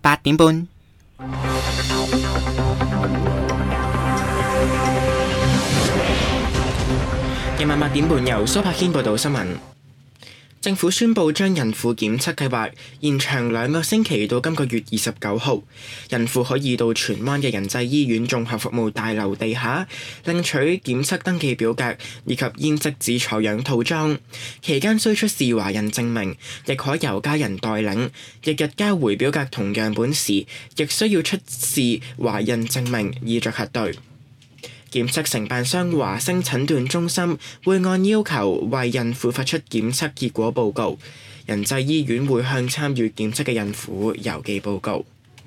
8點半。夜晚8點半，由蘇柏軒報道新聞。政府宣布將孕婦檢測計劃延長2個星期到今個月29號。孕婦可以到荃灣嘅仁濟醫院綜合服務大樓地下領取檢測登記表格以及咽拭子採樣套裝，期間需出示懷孕證明，亦可由家人代領。翌日交回表格同樣本時，亦需要出示懷孕證明以作核對。檢測承辦商華星診斷中心會按要求為孕婦發出檢測結果報告，仁濟醫院會向參與檢測嘅孕婦郵寄報告。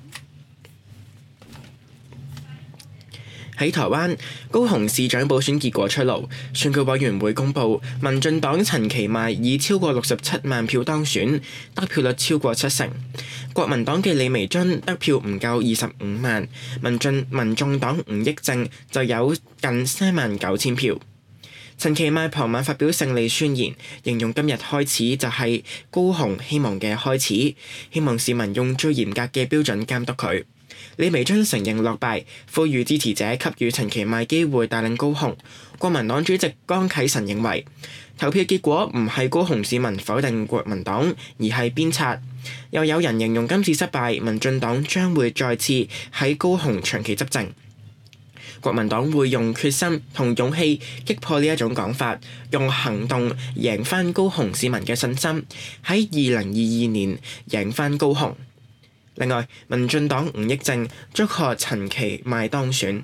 喺台灣，高雄市長補選結果出爐，選舉委員會公布，民進黨陳其邁以超過67萬票當選，得票率超過70%。國民黨嘅李眉蓁得票唔夠25萬，民眾黨吳益政就有近39000票。陳其邁傍晚發表勝利宣言，形容今日開始就係高雄希望嘅開始，希望市民用最嚴格嘅標準監督佢。李眉蓁承認落敗，呼籲支持者給予陳其邁機會帶領高雄。國民黨主席江啟臣認為，投票結果唔係高雄市民否定國民黨，而係鞭策。又有人形容今次失敗，民進黨將會再次喺高雄長期執政。國民黨會用決心同勇氣擊破呢一種講法，用行動贏返高雄市民嘅信心，喺2022年贏返高雄。另外，民進黨吳益政祝賀陳其邁當選。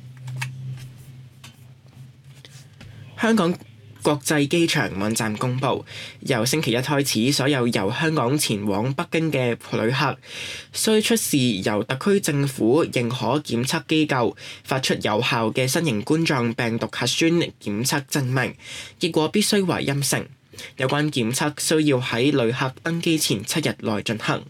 香港國際機場網站公佈，由星期一開始，所有由香港前往北京嘅旅客需出示由特區政府認可檢測機構發出有效嘅新型冠狀病毒核酸檢測證明，結果必須為陰性。有關檢測需要喺旅客登機前7日內進行。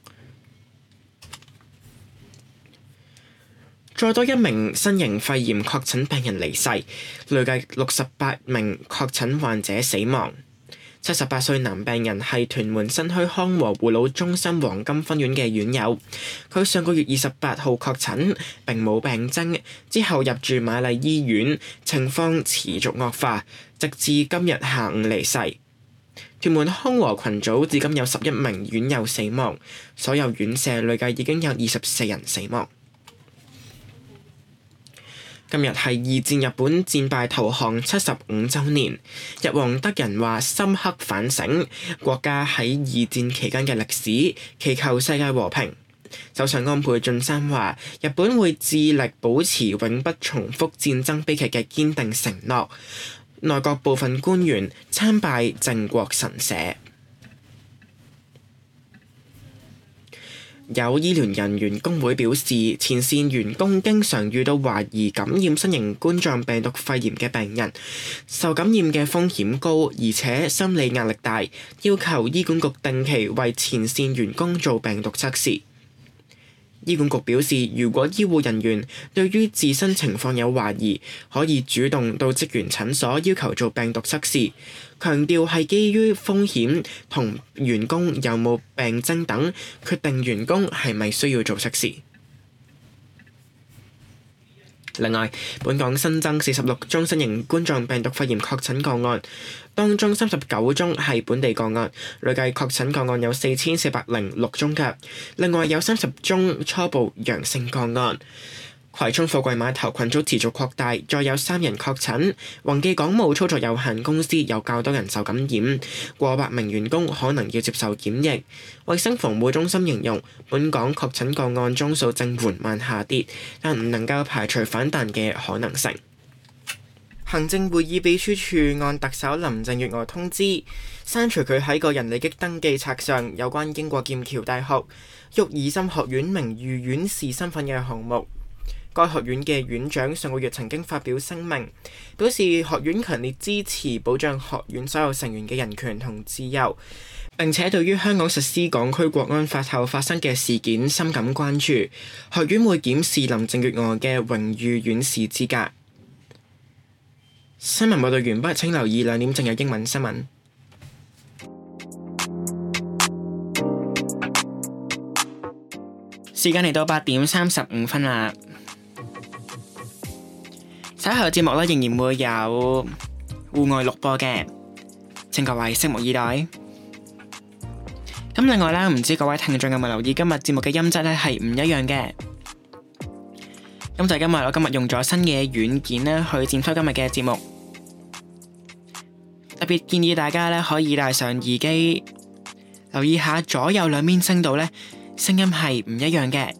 再多一名新型肺炎確診病人離世，累計68名確診患者死亡。78歲男病人係屯門新墟康和護老中心黃金分院嘅院友，佢上個月28號確診，並冇病徵，之後入住瑪麗醫院，情況持續惡化，直至今日下午離世。屯門康和群組至今有11名院友死亡，所有院舍累計已經有24人死亡。今日係二戰日本戰敗投降75週年，日皇德仁話深刻反省國家喺二戰期間嘅歷史，祈求世界和平。首相安倍晉三話日本會致力保持永不重複戰爭悲劇嘅堅定承諾。內閣部分官員參拜靖國神社。有醫療人員工會表示，前線員工經常遇到懷疑感染新型冠狀病毒肺炎嘅病人，受感染嘅風險高，而且心理壓力大，要求醫管局定期為前線員工做病毒測試。醫管局表示，如果醫護人員對於自身情況有懷疑，可以主動到職員診所要求做病毒測試，強調係基於風險同員工有冇病徵等，決定員工係咪需要做測試。另外，本港新增46宗新型冠狀病毒肺炎確診個案，當中39宗係本地個案，累計確診個案有4406宗嘅。另外有30宗初步陽性個案。葵涌貨櫃碼頭群組持續擴大，再有3人確診。宏記港務操作有限公司有較多人受感染，過百名員工可能要接受檢疫。衛生防護中心形容，本港確診個案宗數正緩慢下跌，但唔能夠排除反彈嘅可能性。行政會議秘書處按特首林鄭月娥通知，刪除佢喺個人利益登記冊上有關英國劍橋大學育兒浸學院名譽院士身份嘅項目。該學院嘅院長上個月曾經發表聲明，表示學院強烈支持保障學院所有成員嘅人權同自由，並且對於香港實施港區國安法後發生嘅事件深感關注。學院會檢視林鄭月娥嘅榮譽院士資格。新聞報道完畢，請留意2點正有英文新聞。 時間嚟到8:35啦。稍後節目仍然會有戶外錄播嘅，請各位拭目以待。咁另外唔知各位聽眾有冇留意今日節目嘅音質係唔一樣嘅。咁就係因為我今日用咗新嘅軟件去剪輯今日嘅節目，特別建議大家可以戴上耳機，留意下左右兩邊聲道聲音係唔一樣嘅。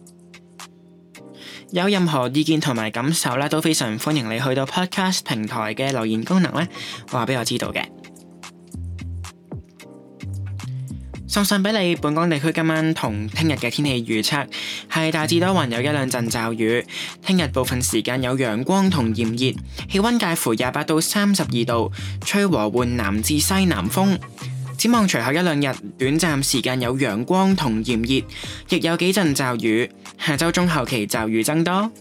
有任何意見同埋感受都非常歡迎你去到 Podcast 平台嘅留言功能話俾我知道嘅。送上俾你，本港地區今晚同聽日嘅天氣預測係大致多雲，有一兩陣驟雨。聽日部分時間有陽光同炎熱，氣溫介乎28到32度，吹和緩南至西南風。展望隨後一兩日，短暫時間有陽光同炎熱，亦有幾陣驟雨。下周中後期驟雨增多。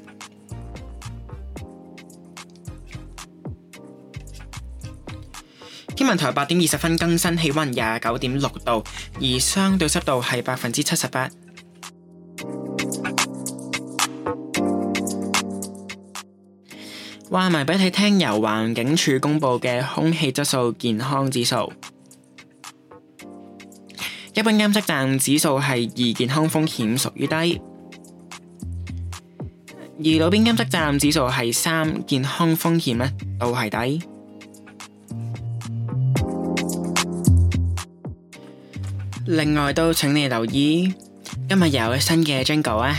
天文台8:20更新氣溫29.6度，而相對濕度係78%。話埋俾你聽，由環境署公布嘅空氣質素健康指數，一般監測站指數係2，健康風險屬於低；而路邊監測站指數係3，健康風險都係低。另外都請你留意，今日有新嘅 Jingle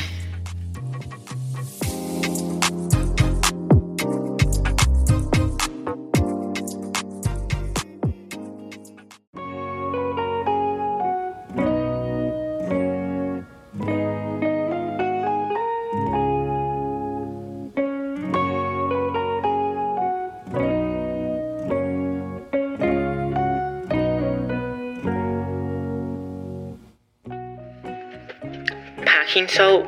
拍軒蘇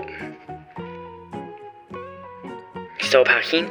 拍軒。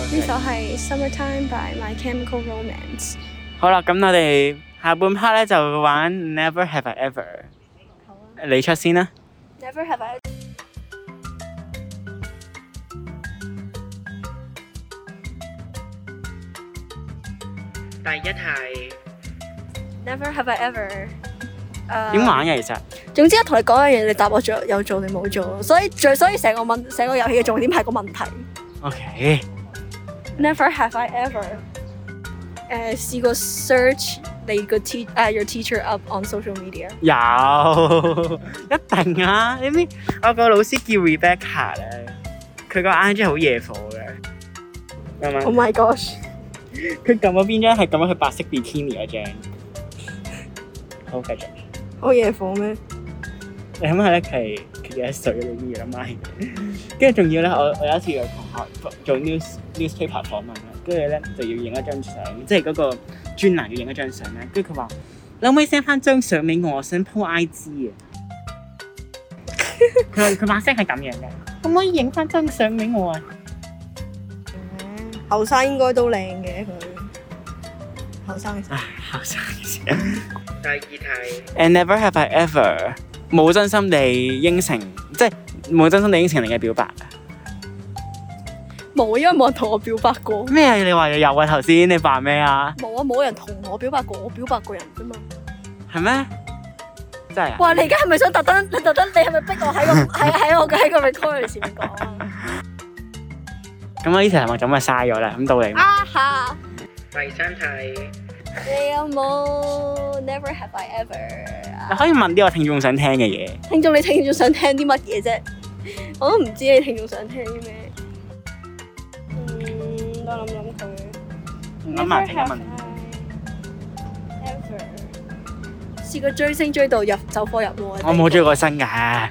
呢首係 Summertime by My Chemical Romance。 好啦，咁我哋下半 part 咧就玩 Never Have I Ever。 好啊。 你出先啦。 Never Have I。 第一題 Never Have I Ever。 點玩嘅其實？ 總之我同你講一樣嘢，你答我有做定冇做，所以成個遊戲嘅重點係個問題。 OK。 Never have I ever 試過 search 你個your teacher up on social media。 有，一定啊！你知我個老師叫 Rebecca 咧，佢個 IG 好惹火嘅，啱唔啱 ？Oh my gosh！ 佢撳咗邊張係撳咗佢白色 bikini 嗰張。好，繼續。 好惹火咩？ 你諗下咧，佢幾多歲你知唔知啦？跟住仲要咧，我有一次有同學做 newspaper 訪問啦，跟住咧就要影一張相，即係嗰個專欄要影一張相咧。跟住佢話：你可唔可以 send 翻張相俾我？我想 po IG 啊！佢把聲係咁樣嘅，可唔可以影翻張相俾我啊？ 後生應該都靚嘅佢，後生嘅時候。 後生嘅時候。 第二題 And never have I ever 冇真心地應承，即係冇真心地應承你嘅表白。 冇，因為冇人同我表白過。 咩啊？你話有啊？頭先你扮咩啊？ 冇啊！冇人同我表白過，我表白過人啫嘛。 係咩？真係啊！ 哇！你而家係咪想特登？你係咪逼我喺個 record 前面講啊？ 咁我呢條題目就咁咪嘥咗啦。咁到你。 啊哈！ 第三題。 你有冇 Never have I ever？ 你可以問啲我聽眾想聽嘅嘢。 聽眾想聽啲乜嘢啫？我都唔知你聽眾想聽啲咩。我諗佢。 諗埋聽一問。 Ever 試過追星追到走火入魔。 我冇追過星㗎，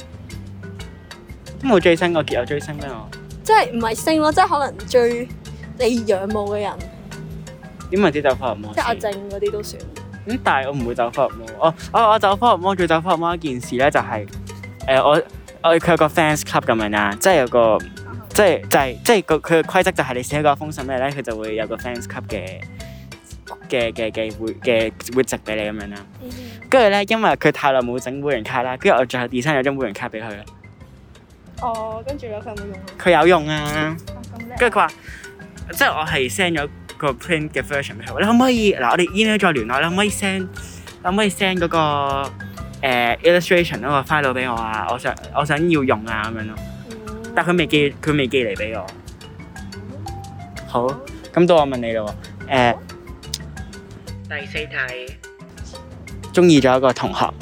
都冇追星過，結有追星咩我？ 即係唔係星咯，即係可能追你仰慕嘅人。 點為之走火入魔？ 即係阿靜嗰啲都算。 咁但係我唔會走火入魔。我走火入魔，最走火入魔一件事咧就係、佢有個 fans club 咁樣啦，即係有個即係佢嘅規則就係你寫一個封信咩咧，佢就會有個 fans club 嘅會籍俾你咁樣啦。跟住咧，因為佢太耐冇整會員卡啦，跟住我最後 design 咗張會員卡俾佢啦。 哦，跟住咧佢有冇用啊？ 佢有用啊。跟住佢話，即係我係 send 咗個 print 嘅 version 俾佢。你可唔可以嗱？我哋 email 再聯絡，你可唔可以 send 嗰個illustration 嗰個 file 俾我啊？我想要用啊咁樣咯。但係佢未寄嚟俾我。好，咁到我問你咯喎。 第四題。 中意咗一個同學。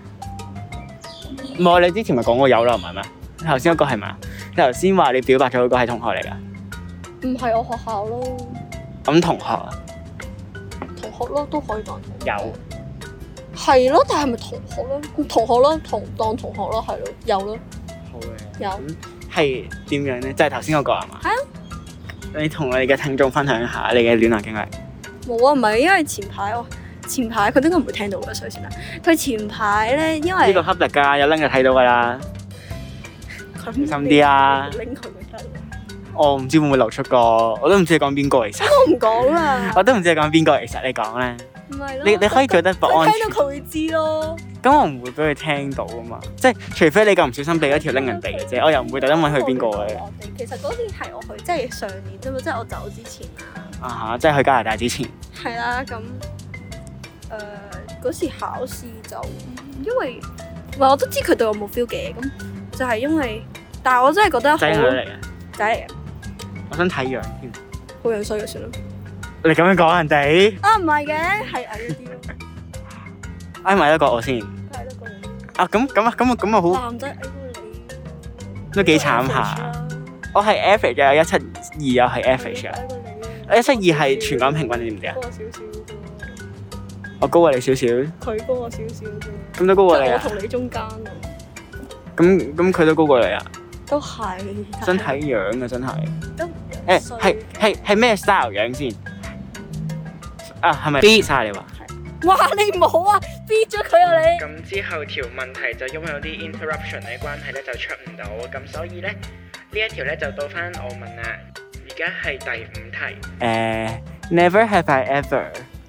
唔係，你之前咪講過有啦，唔係咩？頭先嗰個係咪啊？你頭先話你表白咗嗰個係同學嚟㗎？唔係我學校咯。咁同學啊？ 同學咯，都可以當同學。 有。係咯，但係咪同學咯？同學咯，當同學咯，係咯，有咯。 好嘅。 有。 係點樣咧？就係頭先嗰個係嘛？ 係啊。 你同我哋嘅聽眾分享一下你嘅戀愛經歷。冇啊，唔係因為前排佢應該唔會聽到嘅，所以算啦。佢前排咧，因為呢個 public 㗎，有拎就睇到㗎啦。小心啲啊！ 拎佢咪得。 我唔知會唔會流出個，我都唔知你講邊個其實。 我唔講啦。 我都唔知你講邊個其實，你講咧。 唔係咯。 你可以做得不安全。 聽到佢會知咯。 咁我唔會俾佢聽到啊嘛，即係除非你咁唔小心俾一條拎人哋嘅啫，我又唔會特登問佢邊個嘅。 其實嗰年係我去，即係上年啫嘛，即係我走之前啊。 即係去加拿大之前。 係啦，咁嗰時考試就因為我都知佢對我冇 feel 嘅，咁就係因為，但係我真係覺得好仔嚟嘅。 我想睇樣添。 好樣衰就算啦。 你咁樣講人哋？ 唔係嘅，係矮一啲咯。 挨埋得過我先。 係得過你。咁啊好。 男仔矮過你。 都幾慘下。我係 average 嘅，有172又係 average 啊。172係全港平均，你知唔知啊？ 高少少啫。 我高過你少少。 佢高我少少啫。咁都高過你啊？ 我同你中間啊。 咁佢都高過你啊？ 都係。 真睇樣啊，真係。 都。 係咩 style 樣先？係咪 B 晒你話？ 哇！你唔好啊 ，B 咗佢啊你。 咁之後條問題就因為有啲 interruption 嘅關係咧，就出唔到。咁所以咧呢一條咧就到翻我問啦。而家係第5題。 Never have I ever。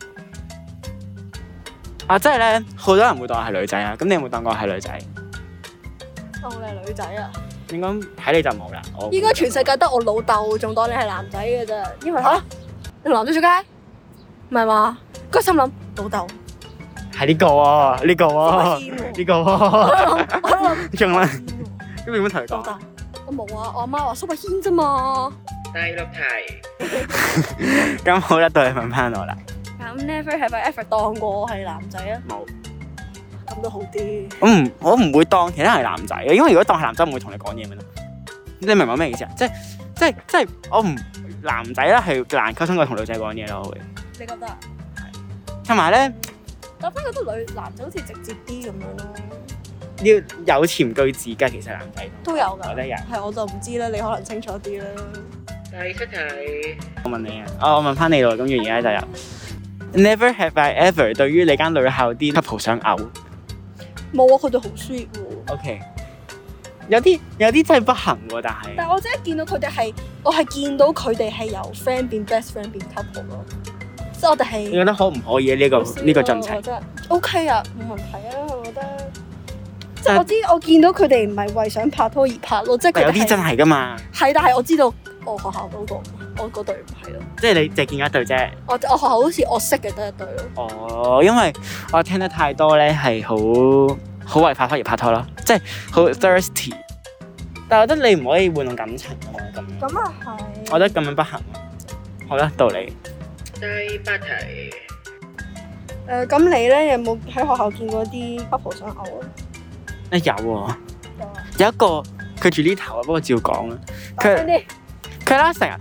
即係咧，好多人會當我係女仔啊。咁你有冇當過我係女仔？ 當你係女仔啊？ 應該睇你就冇啦。 應該全世界得我老豆仲當你係男仔嘅啫，因為你男仔出街，唔係嘛？個心諗老豆係呢個喎，呢個喎，呢個喎，仲啦。咁你點樣同佢講？ 老豆，我冇啊，我阿媽話蘇柏軒啫嘛。 第6題。 咁好啦，到你問翻我啦。 咁 Never have I ever 當過我係男仔啊？ 冇。 咁都好啲。 我唔會當其他人係男仔嘅，因為如果當係男仔，我唔會同你講嘢嘅咯。你明唔明咩意思啊？即係我唔男仔咧係難溝通過同女仔講嘢咯，我會。 你覺得？係。 同埋咧， 我反而覺得男仔好似直接啲咁樣咯。 要有潛句子㗎，其實男仔都有㗎。 我覺得有。 係我就唔知啦，你可能清楚啲啦。 第7題。 我問你啊，我問翻你咯，咁而家就有。Never have I ever 對於你間女校啲 couple 想嘔。 冇啊，佢哋好 sweet 喎。 OK， 有啲真係不幸喎，但係我真係見到佢哋係，我係見到佢哋係由 friend 變 best friend 變 couple 咯。即係我哋係。你覺得可唔可以呢個進程？ 我覺得 OK 啊，冇問題啊，我覺得。即係我見到佢哋唔係為想拍拖而拍咯，即係佢哋有啲真係㗎嘛。 係，但係我知道我學校嗰個，我嗰隊唔係咯。即係你淨係見一隊啫。 我學校好似我識嘅得一隊咯。 因為我聽得太多咧，係好為拍拖而拍拖咯，即係好 thirsty。但係我覺得你唔可以玩弄感情啊嘛，咁樣。咁啊係。我覺得咁樣不行。好啦，到你。 第8題。 咁你咧有冇喺學校見過啲 couple 想嘔啊？ 有喎，有一個佢住呢頭啊，不過照講啦。佢啦成日，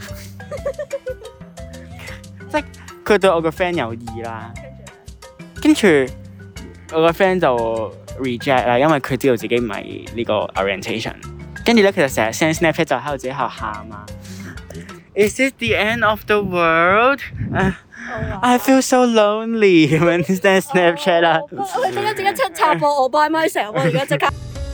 即係佢對我個 friend 有意啦。跟住我個 friend 就 reject 啦，因為佢知道自己唔係呢個 orientation。跟住咧，佢就成日 send snapchat 就喺度自己喺度喊啊。Is this the end of the world? I feel so lonely when send Snapchat 啦。 我點解插播我 by myself 啊？而家即刻。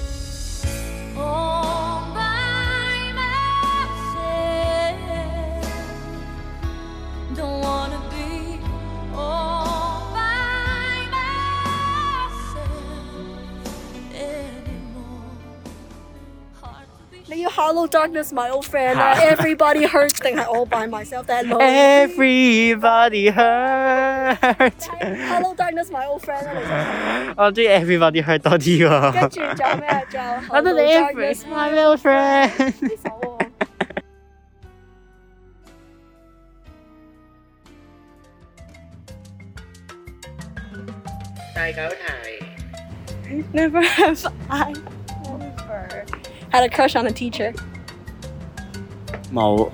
你要 Hello Darkness My Old Friend 啦，Everybody Hurts 定係 All By Myself 定係 Everybody Hurts。 Hello Darkness My Old Friend 啦，你想？ 我中意 Everybody Hurt 多啲喎。 跟住仲有咩啊？仲有 Hello Darkness My Old Friend。 呢首喎。 第9題。 Never have I ever had a crush on a teacher。 冇。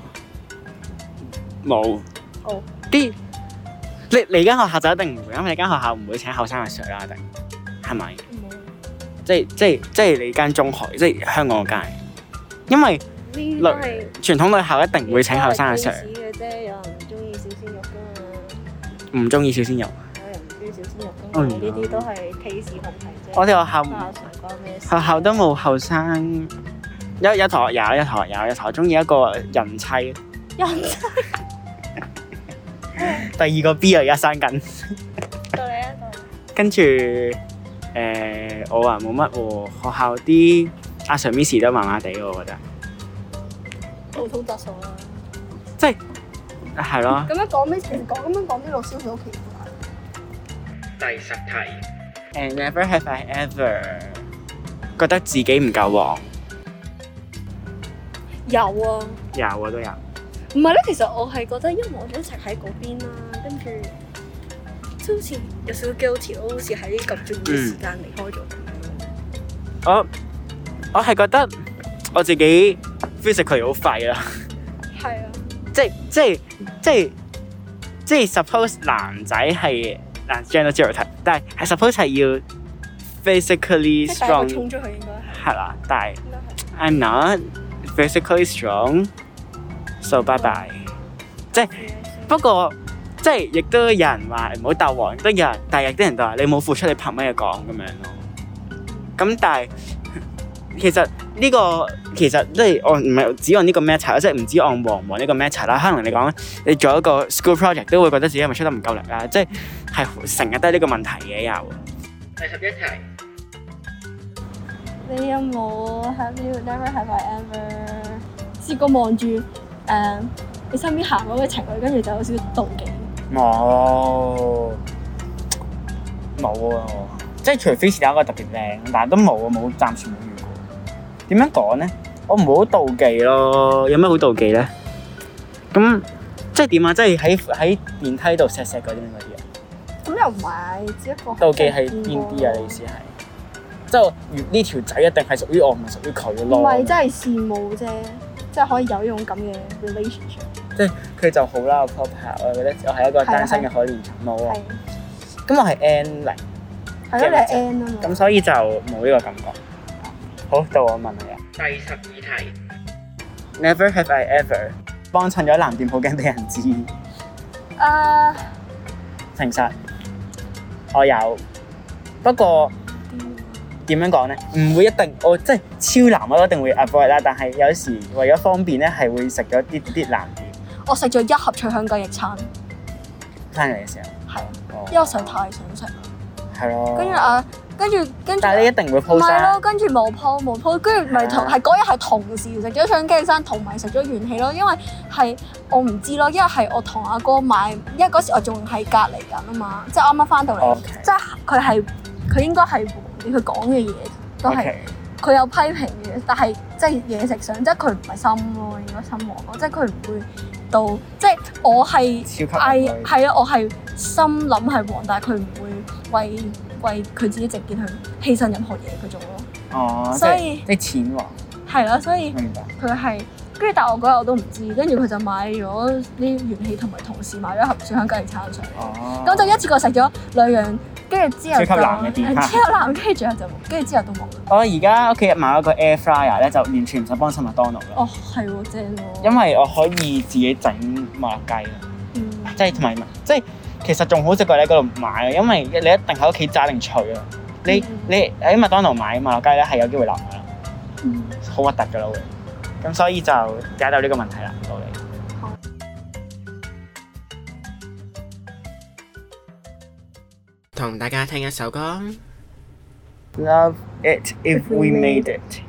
哦。 啲你間學校就一定唔會，因為你間學校唔會請後生嘅 Sir 啦，一定係咪？即係你間中學，即係香港嗰間，因為傳統女校一定會請後生嘅 Sir。 嘅啫，有人唔中意小鮮肉㗎嘛。 唔中意小鮮肉。 有人唔中意小鮮肉㗎嘛？呢啲都係 taste 問題啫。 我哋學校都冇後生，一堂學中意一個人妻。 人妻。 第2個 B 啊，而家生緊。 到你啊， 跟住我話冇乜喎，學校啲阿 Sir Miss 都麻麻地喎，我覺得。 普通質素啦。 即係係咯。咁樣講啲老師好奇怪。 第10題。 Never have I ever 覺得自己唔夠黃。 有啊。 有都有。 唔係咧，其實我係覺得，因為我哋一齊喺嗰邊啦，跟住即係好似有少少 guilty 咯，好似喺咁重要嘅時間離開咗。 我係覺得我自己 physically 好廢啦。 係啊。 即係 suppose 男仔係gender stereotype，但係 suppose 係要 physically strong。 衝出去應該係。 係啦，但係 I'm not physically strong。So bye bye，即係不過即係亦都有人話唔好鬥黃，都有人，但係有啲人都話你冇付出，你憑乜嘢講咁樣咯？咁但係其實呢個其實即係我唔係只按呢個 matter， 即係唔止按黃唔黃呢個 matter 啦。可能你講你做一個 school project 都會覺得自己係咪出得唔夠力啊？即係成日都係呢個問題嘅又。第11題， 你有冇 have you never have I ever 試過望住你身邊行嗰個情侶，跟住就有少少妒忌？ 冇啊！即係除非是有一個特別靚，但係都冇啊，暫時冇遇過。點樣講咧？我唔會好妒忌咯。有咩好妒忌咧？咁即係點啊？即係喺電梯度錫嗰啲啊？ 咁又唔係，只一個妒忌係邊啲啊？你意思係即係呢條仔一定係屬於我，唔係屬於佢咯？ 唔係，真係羨慕啫，即係可以有呢種咁嘅 relationship。 即係佢就好啦，我 proper， 我覺得我係一個單身嘅可憐蟲貓啊。咁我係 N0。 係咯，你係 N 啊嘛。 咁所以就冇呢個感覺。好，到我問你啊。第12題。Never have I ever 幫襯咗藍店，好驚俾人知。誠實，我有。不過點樣講咧？唔會一定，我即係超藍我一定會 avoid 啦。但係有時為咗方便咧，係會食咗啲藍店。 我食咗1盒脆香雞翼餐。 生日嘅時候。係。 因為我實在太想食。係咯。跟住。 但係你一定會 post 啦。唔係咯，跟住冇 post， 跟住咪係嗰日係同時食咗脆香雞翼餐，同埋食咗元氣咯。因為係我唔知咯，因為係我同阿哥買，因為嗰時我仲喺隔離緊啊嘛，即係啱啱翻到嚟，即係佢應該係佢講嘅嘢都係佢有批評嘅，但係即係嘢食上，即係佢唔係心咯，應該心黃咯，即係佢唔會到，即係我係係啊，我係心諗係黃，但係佢唔會為佢自己直接去犧牲任何嘢嗰種咯。哦，所以即係錢黃。 係啦，所以佢係跟住，但係我嗰日我都唔知，跟住佢就買咗啲元氣，同埋同事買咗盒脆香雞翼餐上嚟，咁就一次過食咗2樣。跟住之後就超級藍嘅店，跟住之後都冇。 我而家屋企買咗個 air fryer 咧，就完全唔使幫襯麥當勞啦。 哦，係喎，正喎。因為我可以自己整麥樂雞啦，即係同埋即係其實仲好食過你喺嗰度買啊，因為你一定喺屋企炸定脆啊。你喺麥當勞買麥樂雞咧係有機會腍噶啦，好核突噶啦會。咁所以就解答呢個問題啦，到你。 同大家聽一首歌。 Love it if we made it。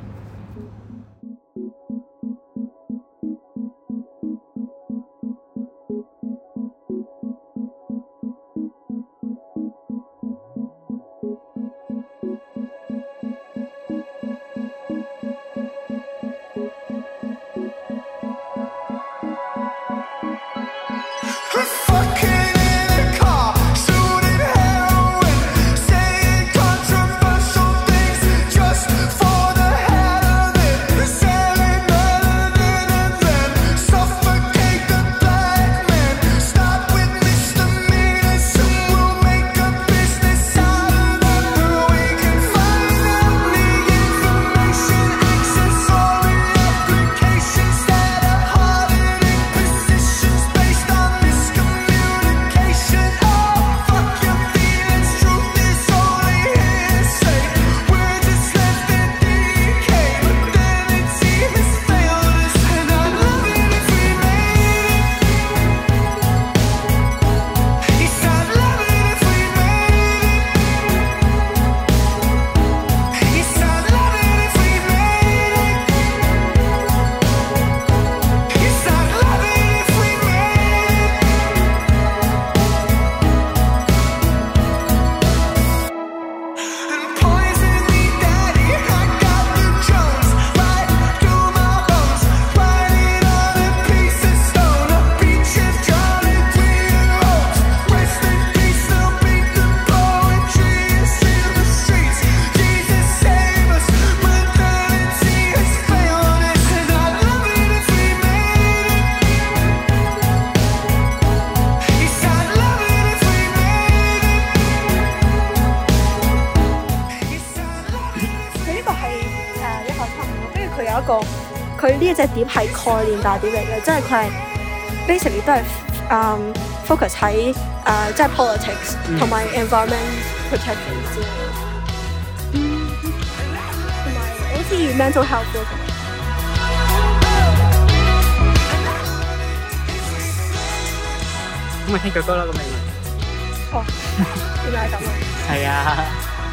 佢呢一隻碟係概念大碟嚟嘅，即係佢係 basically 都係focus 喺即係 politics 同埋 environment protection 之類。同埋我好似至於 mental health 嗰個。 咁咪聽咗歌啦，咁咪。 哦，原來係咁啊！ 係啊。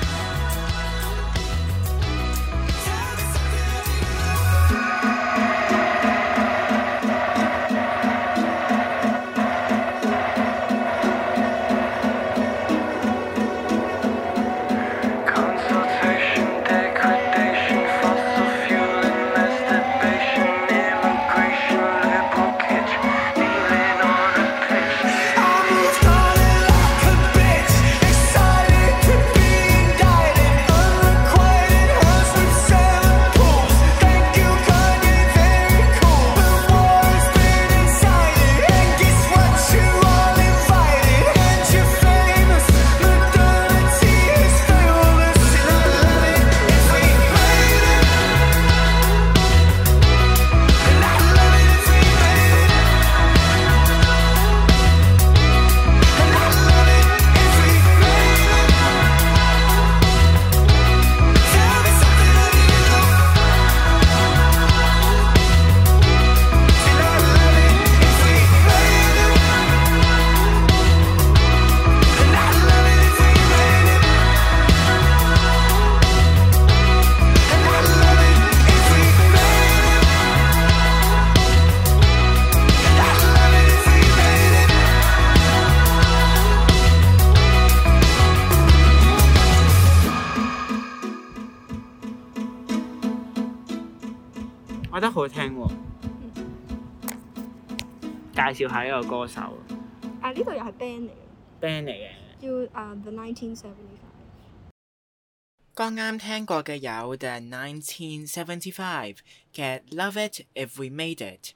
我覺得好聽喎，介紹下呢個歌手。 呢度又係 band 嚟嘅。 band 嚟嘅。 叫The 1975。 剛啱聽過嘅有 The 1975嘅 Love It If We Made It。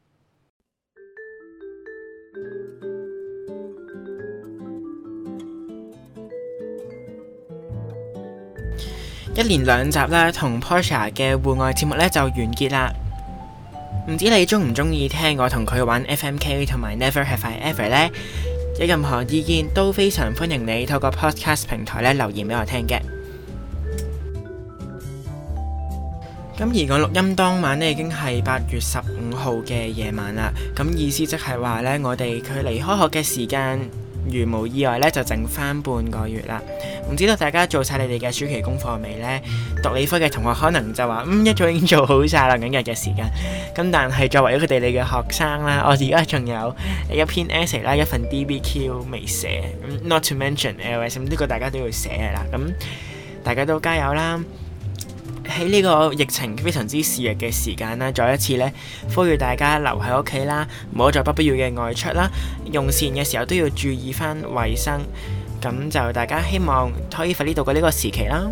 一連2集啦，同 Portia 嘅戶外節目咧就完結啦。唔知你中唔中意聽我同佢玩 FMK 同埋 Never Have I Ever 呢？有任何意見都非常歡迎你透過 Podcast 平台咧留言俾我聽嘅。咁而我錄音當晚呢已經係8月15號嘅夜晚啦。咁意思即係話呢，我哋距離開學嘅時間，如無意外咧，就剩翻半個月啦。唔知道大家做晒你哋嘅暑期功課未呢？讀理科嘅同學可能就話一早已經做好晒啦，緊日嘅時間。咁但係作為咗佢哋你嘅學生啦，我而家仲有一篇 essay 啦，一份 DBQ 未寫。Not to mention LS， 呢個大家都要寫嘅啦。咁大家都加油啦！喺呢個疫情非常之肆虐嘅時間啦，再一次呢，呼籲大家留喺屋企啦，唔好再不必要嘅外出啦。用膳嘅時候都要注意翻衞生。咁就大家希望可以快啲度過呢個時期啦。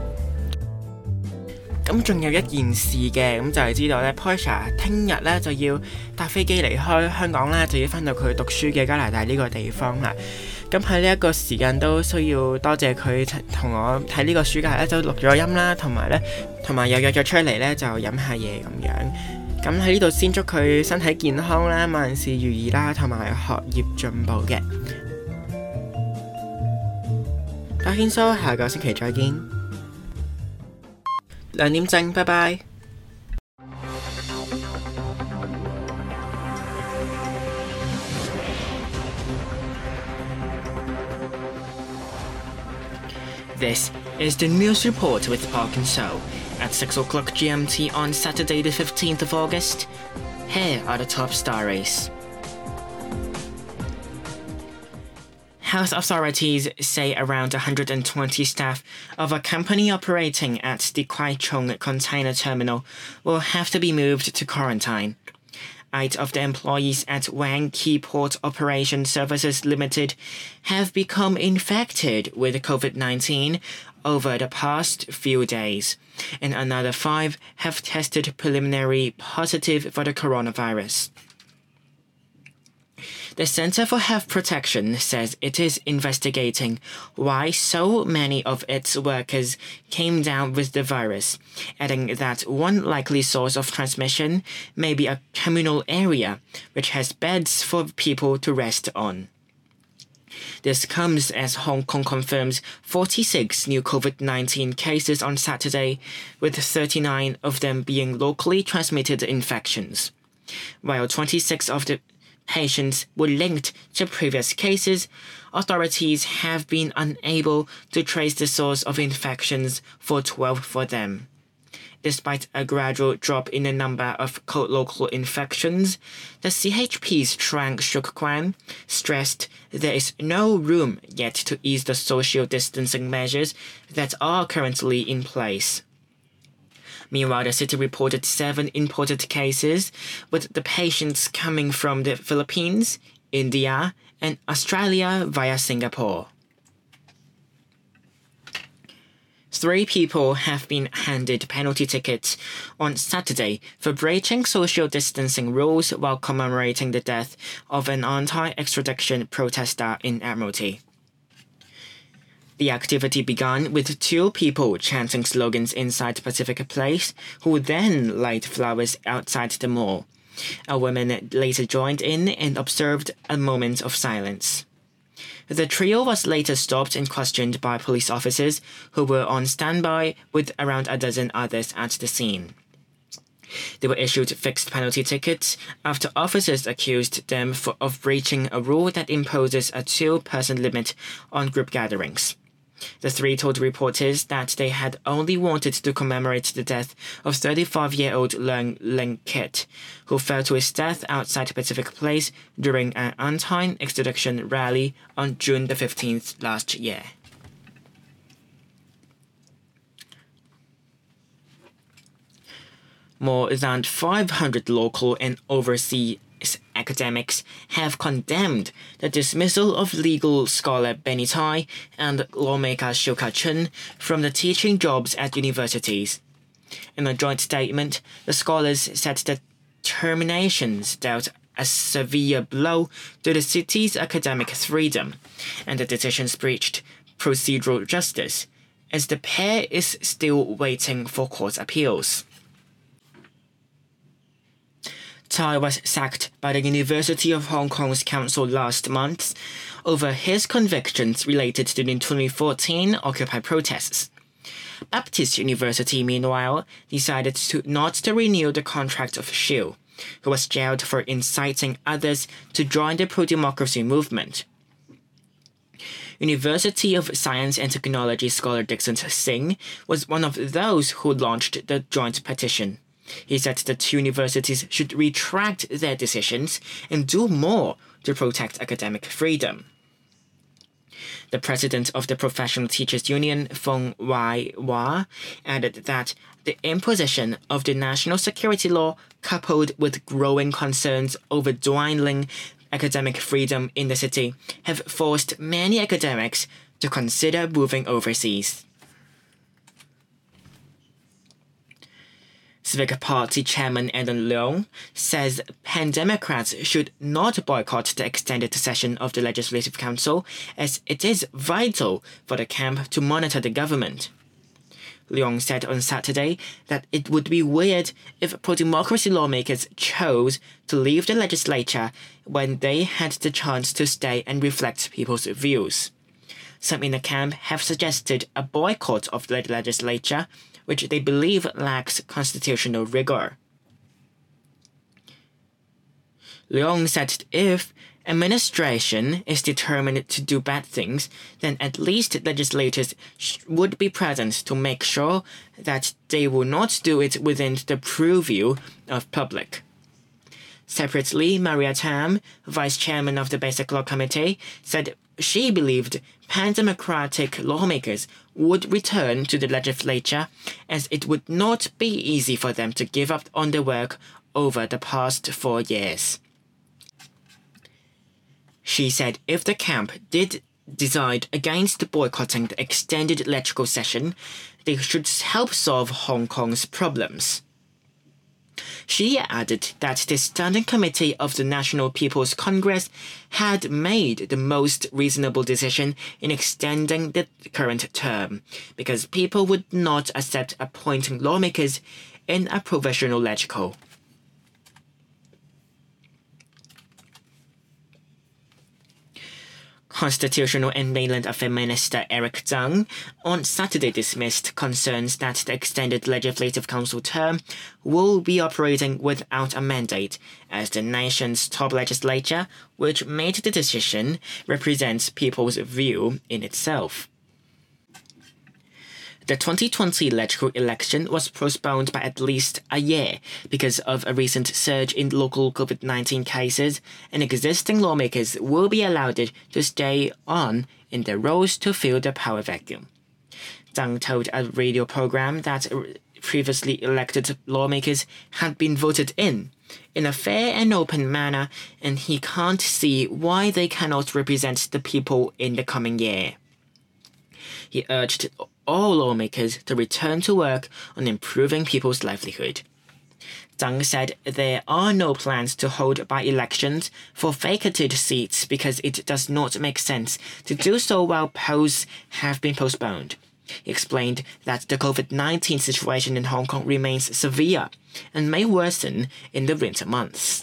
咁仲有一件事嘅，咁就係知道呢 Portia 聽日呢就要搭飛機離開香港啦，就要翻到佢讀書嘅加拿大呢個地方啦。咁喺呢一個時間都需要多謝佢同我喺呢個暑假呢就錄咗音啦，同埋又約咗出嚟呢就飲下嘢咁樣。咁喺呢度先祝佢身體健康啦，萬事如意啦，同埋學業進步嘅。阿軒叔，下個星期再見。2點正，拜拜。This is the news report with Park and So at 6 o'clock GMT on Saturday the 15th of August. Here are the top stories. Health authorities say around 120 staff of a company operating at the Kwai Chung container terminal will have to be moved to quarantine. 8 of the employees at Wang Key Port Operation Services Limited have become infected with COVID-19 over the past few days, and another 5 have tested preliminary positive for the coronavirus. The Center for Health Protection says it is investigating why so many of its workers came down with the virus, adding that one likely source of transmission may be a communal area which has beds for people to rest on. This comes as Hong Kong confirms 46 new COVID-19 cases on Saturday, with 39 of them being locally transmitted infections. While 26 of the patients were linked to previous cases, authorities have been unable to trace the source of infections for 12 for them. Despite a gradual drop in the number of local infections, the CHP's Trang Shuk Kwan stressed there is no room yet to ease the social distancing measures that are currently in place. Meanwhile, the city reported 7 imported cases, with the patients coming from the Philippines, India, and Australia via Singapore. 3 people have been handed penalty tickets on Saturday for breaching social distancing rules while commemorating the death of an anti-extradition protester in Admiralty. The activity began with 2 people chanting slogans inside Pacific Place, who then laid flowers outside the mall. A woman later joined in and observed a moment of silence. The trio was later stopped and questioned by police officers who were on standby with around a dozen others at the scene. They were issued fixed penalty tickets after officers accused them of breaching a rule that imposes a 2-person limit on group gatherings. The 3 told reporters that they had only wanted to commemorate the death of 35-year-old Leung Ling Kit, who fell to his death outside Pacific Place during an anti-extradition rally on June the 15th last year. More than 500 local and overseas academics have condemned the dismissal of legal scholar Benny Tai and lawmaker Shou Ka-chun from the teaching jobs at universities. In a joint statement, the scholars said that terminations dealt a severe blow to the city's academic freedom, and the decisions breached procedural justice, as the pair is still waiting for court appeals. Tai was sacked by the University of Hong Kong's council last month over his convictions related to the 2014 Occupy protests. Baptist University, meanwhile, decided not to renew the contract of Shou, who was jailed for inciting others to join the pro-democracy movement. University of Science and Technology scholar Dixon Singh was one of those who launched the joint petition. He said that universities should retract their decisions and do more to protect academic freedom. The president of the Professional Teachers Union, Feng Wai Hua, added that the imposition of the national security law, coupled with growing concerns over dwindling academic freedom in the city, have forced many academics to consider moving overseas. Civic Party Chairman Alan Leong says Pan-Democrats should not boycott the extended session of the Legislative Council, as it is vital for the camp to monitor the government. Leong said on Saturday that it would be weird if pro-democracy lawmakers chose to leave the legislature when they had the chance to stay and reflect people's views. Some in the camp have suggested a boycott of the legislature, which they believe lacks constitutional rigor. Leong said if administration is determined to do bad things, then at least legislators would be present to make sure that they will not do it within the purview of public. Separately, Maria Tam, vice chairman of the Basic Law Committee, said she believed pan-democratic lawmakers would return to the legislature, as it would not be easy for them to give up on their work over the past 4 years. She said if the camp did decide against boycotting the extended legislative session, they should help solve Hong Kong's problems. She added that the Standing Committee of the National People's Congress had made the most reasonable decision in extending the current term, because people would not accept appointing lawmakers in a provisional legislature. Constitutional and Mainland Affairs Minister Eric Tsang on Saturday dismissed concerns that the extended Legislative Council term will be operating without a mandate, as the nation's top legislature, which made the decision, represents people's view in itself. The 2020 electoral election was postponed by at least a year because of a recent surge in local COVID-19 cases, and existing lawmakers will be allowed to stay on in their roles to fill the power vacuum. Tsang told a radio program that previously elected lawmakers had been voted in a fair and open manner, and he can't see why they cannot represent the people in the coming year. He urged all lawmakers to return to work on improving people's livelihood. Tsang said there are no plans to hold by-elections for vacated seats because it does not make sense to do so while polls have been postponed. He explained that the COVID-19 situation in Hong Kong remains severe and may worsen in the winter months.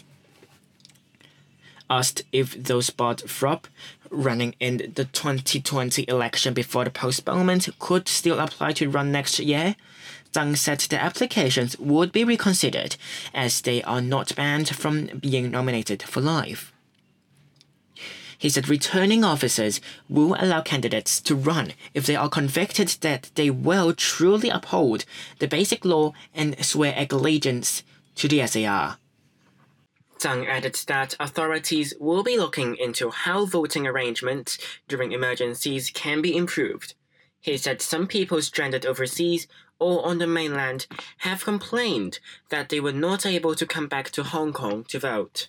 Asked if those Bob Thorpe running in the 2020 election before the postponement could still apply to run next year, Tsang said the applications would be reconsidered as they are not banned from being nominated for life. He said returning officers will allow candidates to run if they are convicted that they will truly uphold the basic law and swear allegiance to the SAR. Tsang added that authorities will be looking into how voting arrangements during emergencies can be improved. He said some people stranded overseas or on the mainland have complained that they were not able to come back to Hong Kong to vote.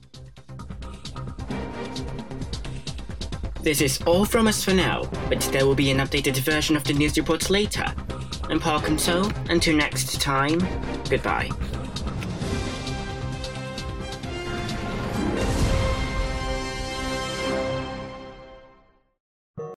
This is all from us for now, but there will be an updated version of the news report later. I'm Park and So, until next time, goodbye.